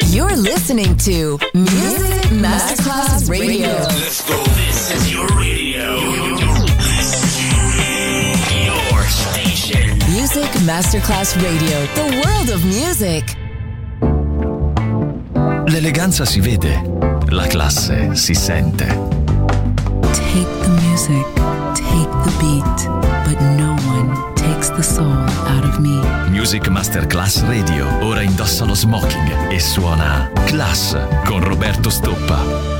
You're listening to Music Masterclass Radio. Let's go. This is your radio. Your station. Music Masterclass Radio. The world of music. L'eleganza si vede, la classe si sente. Take the music, take the beat, but no one takes the soul out of me. Music Masterclass Radio. Ora indossa lo smoking e suona Class con Roberto Stoppa.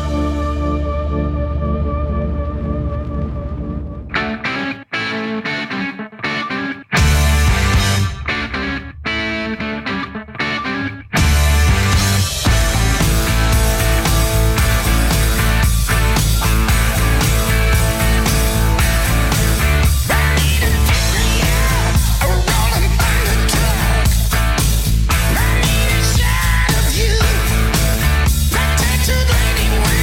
Anyway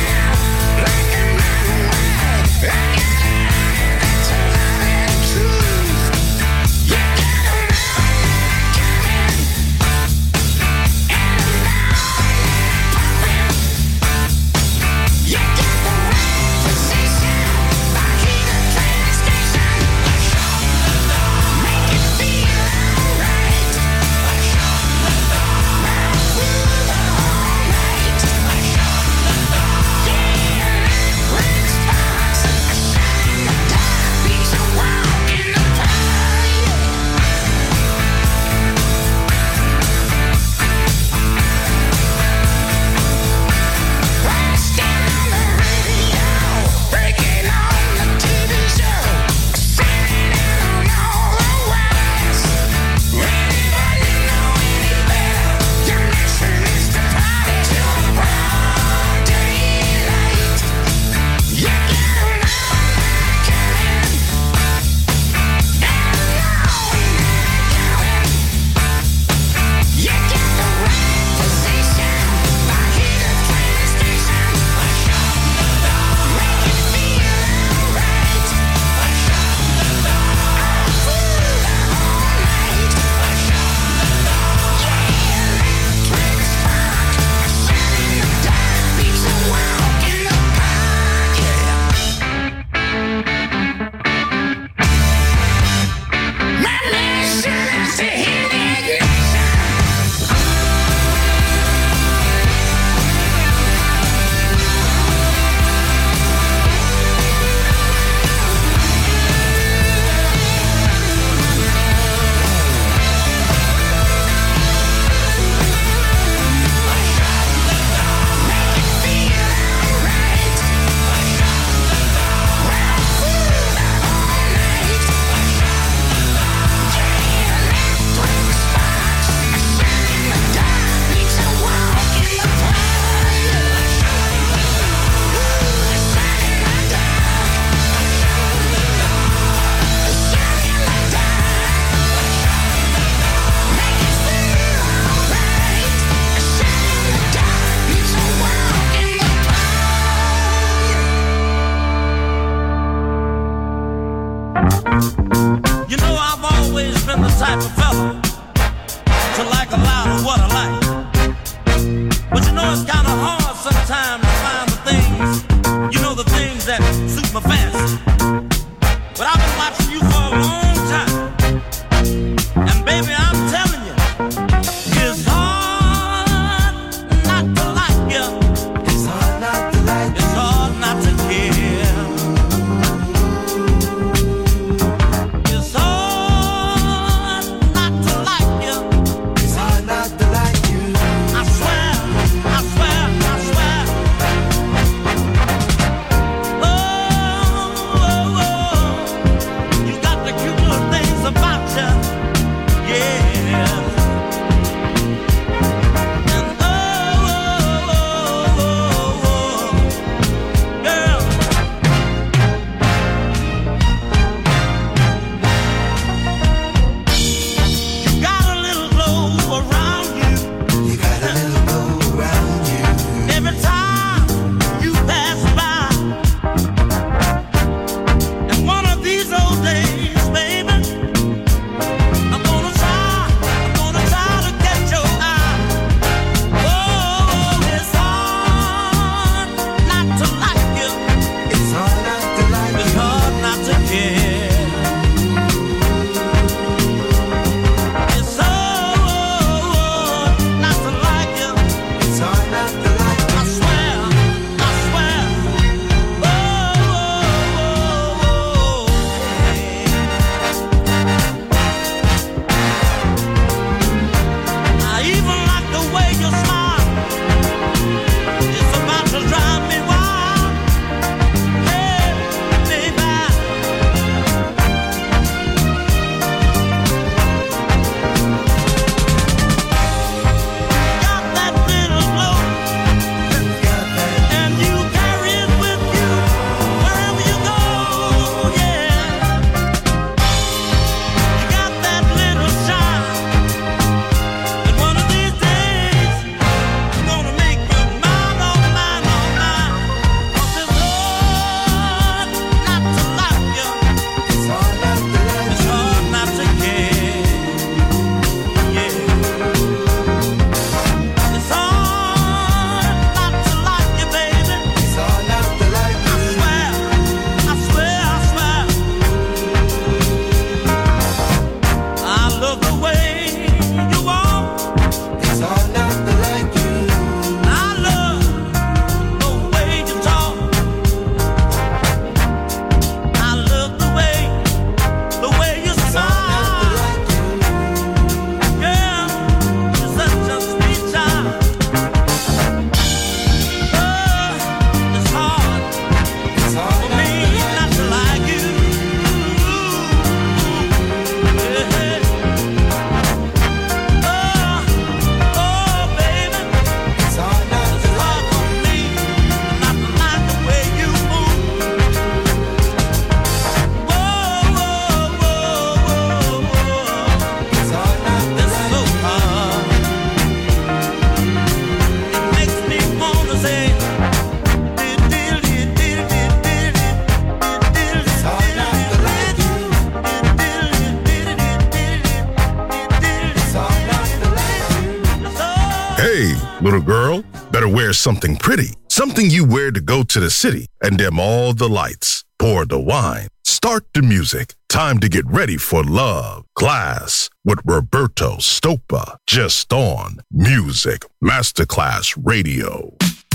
Hey, little girl, better wear something pretty. Something you wear to go to the city and dim all the lights. Pour the wine. Start the music. Time to get ready for love. Class with Roberto Stoppa. Just on Music Masterclass Radio.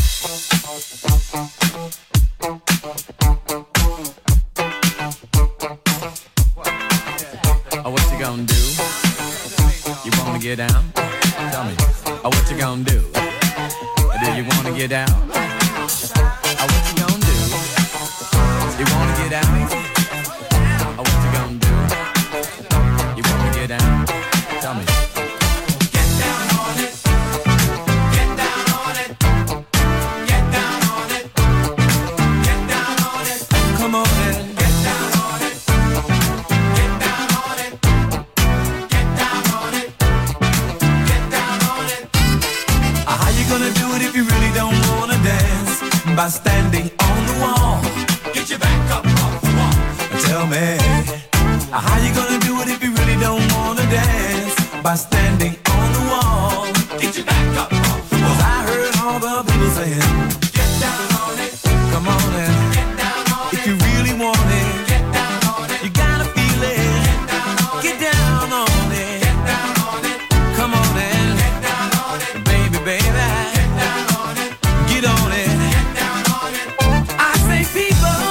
Oh, what you gonna do? You wanna get down? Tell me. Oh, what you gonna do? Do you wanna get down? Oh, what you gonna do? You wanna get down? Oh, what you gonna do? You wanna get down? Tell me. Get down on it. Get down on it. Get down on it. Get down on it. Come on in. Get down on it. Get down on it. Get down on it. Get down on it. How you gonna do it if you really don't wanna dance? By standing on the wall. Get your back up off the wall. Tell me, how you gonna do it if you really don't wanna dance? By standing on the wall. Get your back up off the wall. 'Cause I heard all the people saying, get down on it. Come on in. Get down on it. If you really want it, get down on it. You gotta feel it. Get down on it. Get down on it. Get down on it. Come on in. Get down on it. Baby, baby. Get down on it. Get on it. Get down on it. I say people,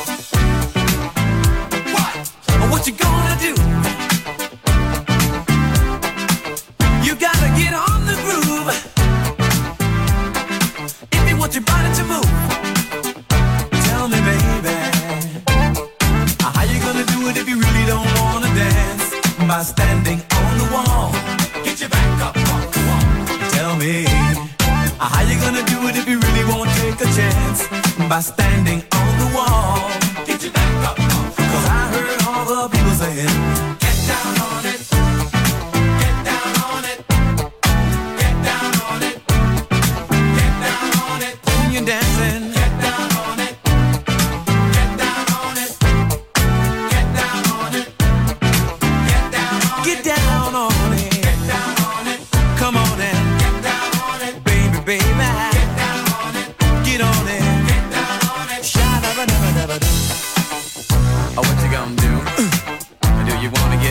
what you gonna do? You gotta get on the groove if you want your body to move. Tell me, baby, how you gonna do it if you really don't wanna dance? By standing on the wall. Get your back up on the wall. Tell me, how you gonna do it if you really won't take a chance? By standing on the wall. Get your back up on the wall. 'Cause I heard all the people saying, get down on it. Get down on it. Get down on it. Get down on it. When you're dancing, get down on it. Get down on it. Get down on it. Get down on it. Get down on it. Get down on it. Come on in. Get down on it. Baby, baby. Get down on it. Get on it. Get down on it. Sha-da-ba-da-ba-da-ba-da. Oh, what you gonna do? Do you wanna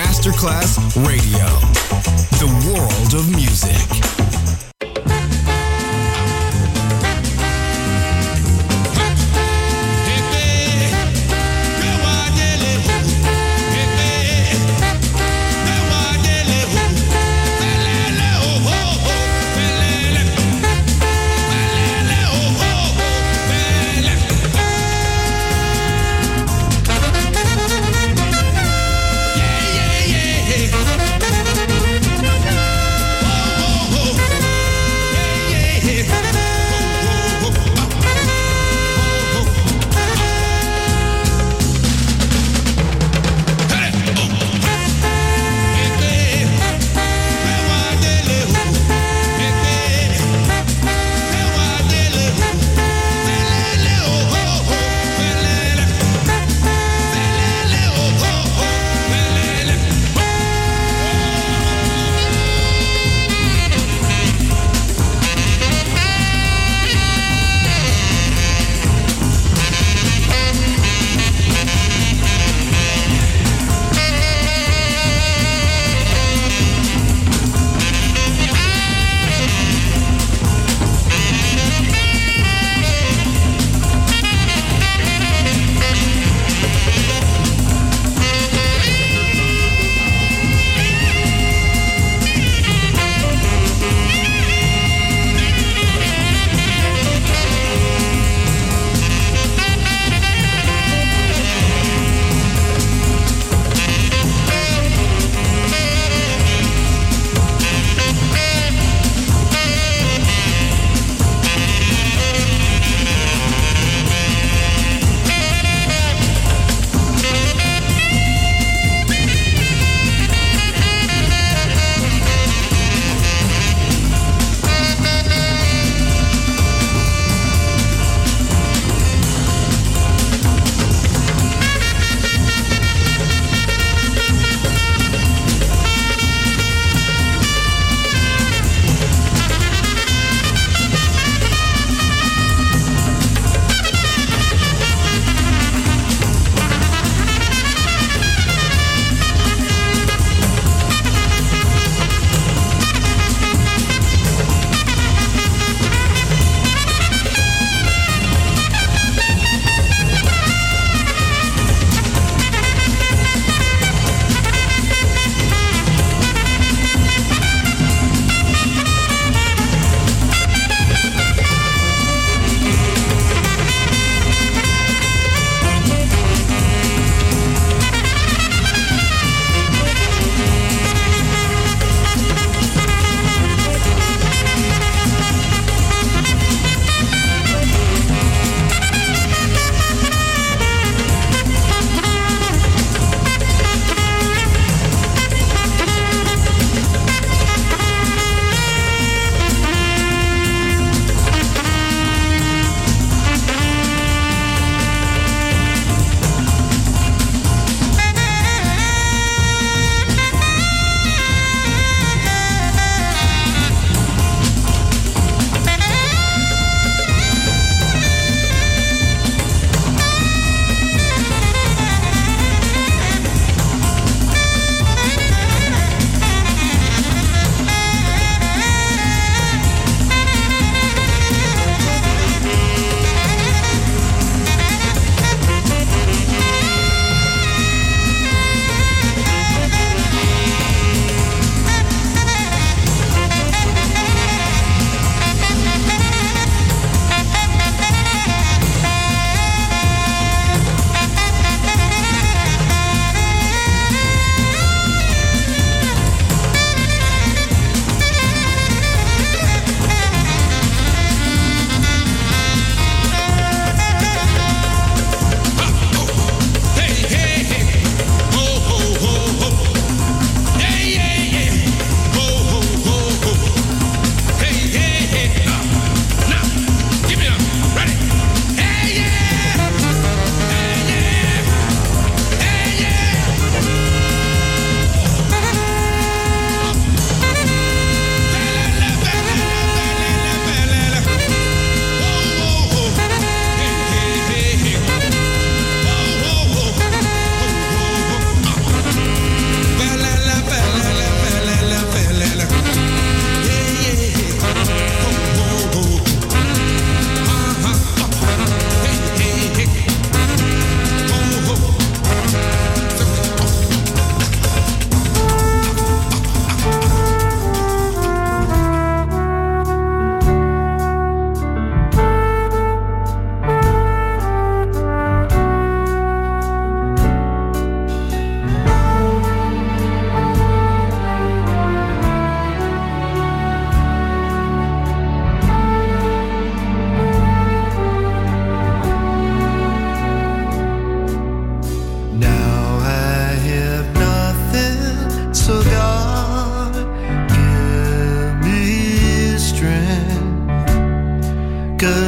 Masterclass Radio. The world of music. Oh,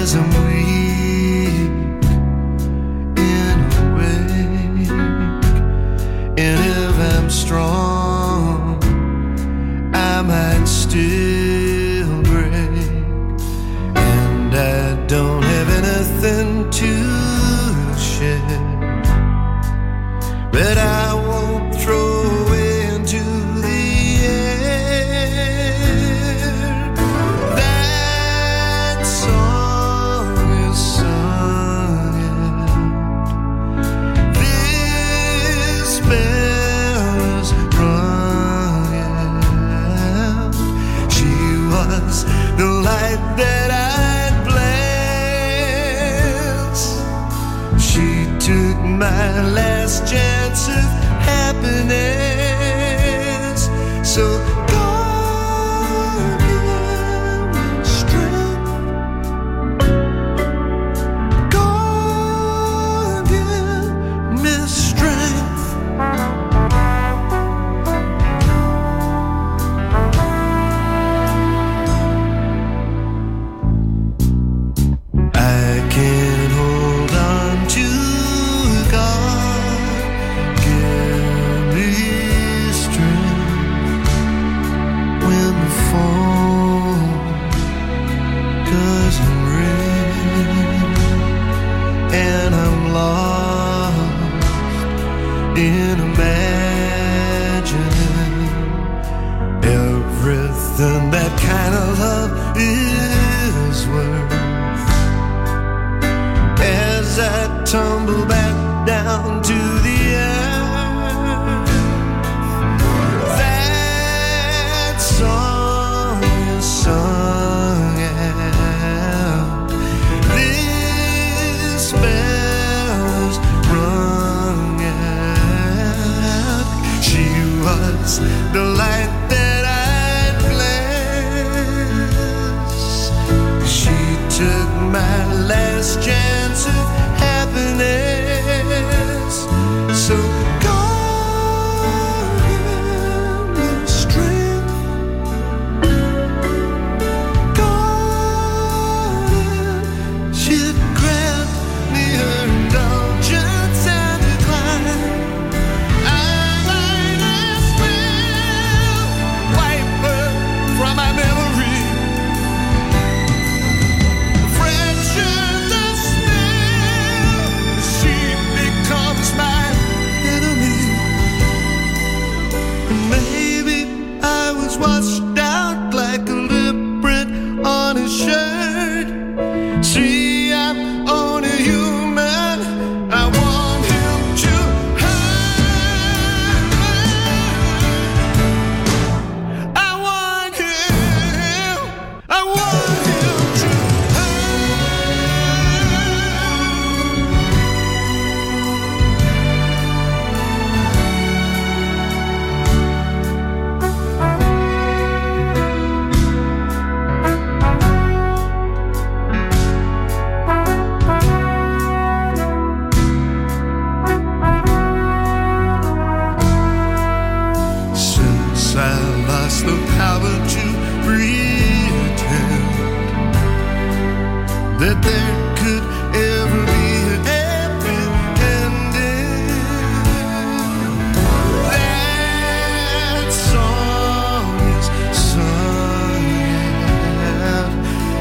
'cause I'm weak in a way, and if I'm strong I might still break, and I don't have anything to share, but I won't throw away into the air. That song is sung out, this bell is rung out. She was the light that I'd bless. She took my last chance of happiness. So God give me strength. God give me strength. I can hold on to God. Give me strength when the phone doesn't ring and I'm lost in imagining everything that kind of love is worth. As I tumble back down to the earth, that song is sung out, this bell is rung out. She was the light that I'd bless. She took my last chance of happiness. So God give me strength. God, she'd grant me her indulgence and decline. I might as well wipe her from my memory. Fraction the smell, she becomes my enemy. Maybe I was washed out like a lip print on a shirt. See, I'm only human. I want him to hurt. I want him. I want him to since I lost the power to pretend that there could ever be a happy ending. That song is sung out,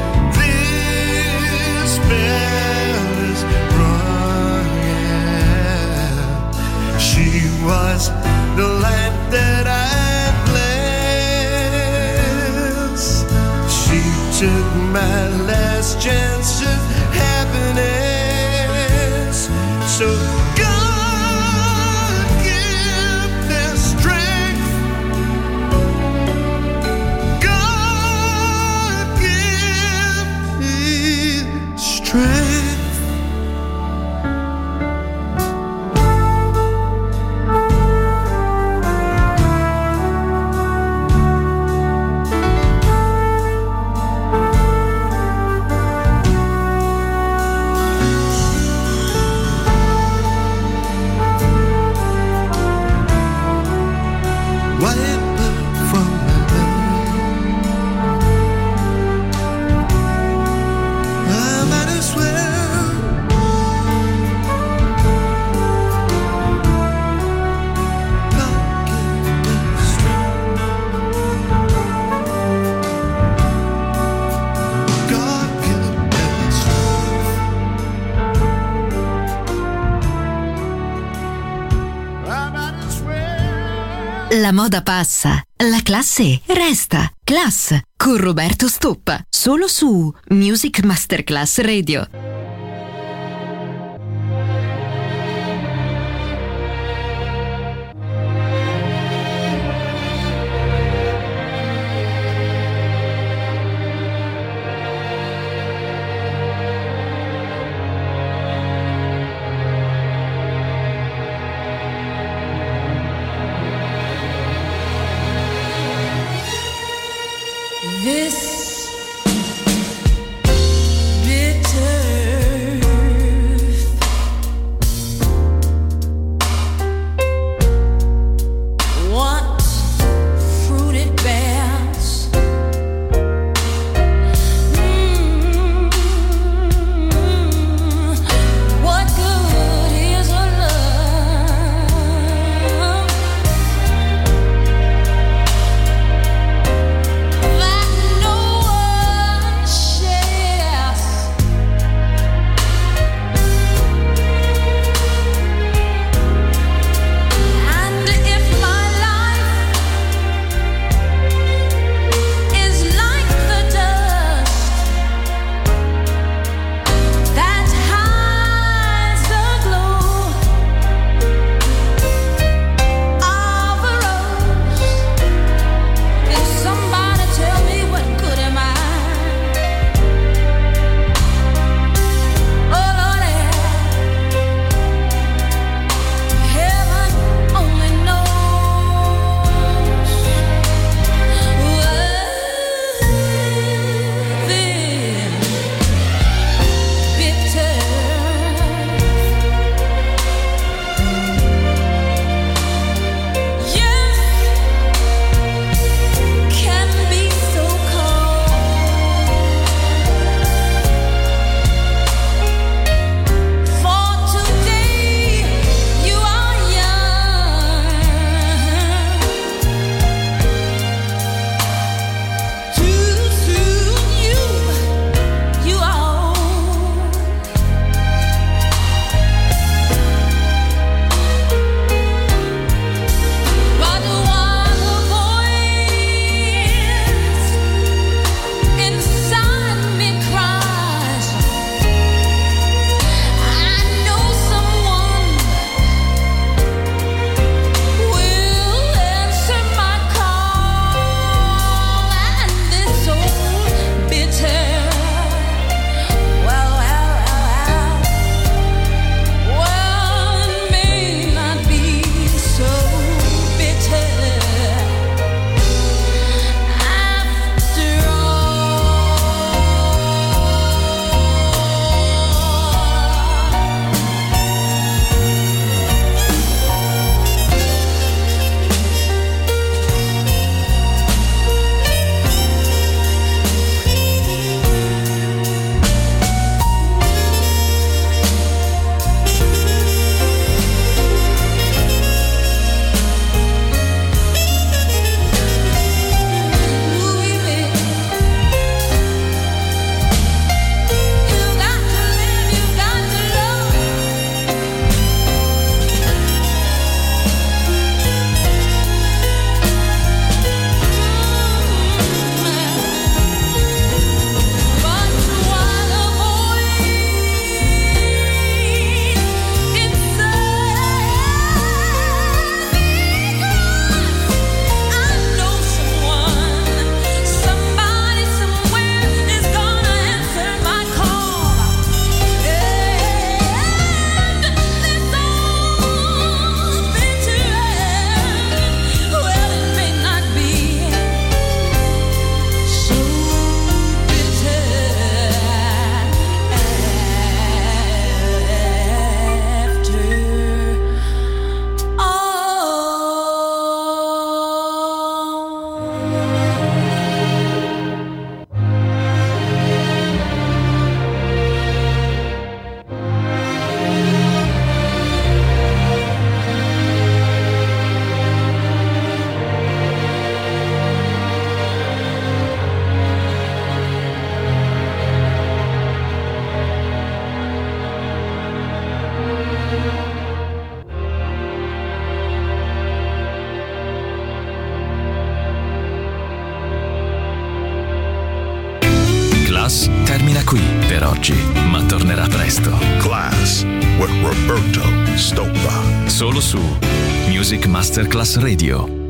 this bell is rung out. She was the light that I bless. She took my last chance of happiness. So God give me strength. God give me strength. I'm La moda passa, la classe resta. Class con Roberto Stoppa, solo su Music Masterclass Radio. This bitter Class termina qui per oggi, ma tornerà presto. Class with Roberto Stoppa. Solo su Music Masterclass Radio.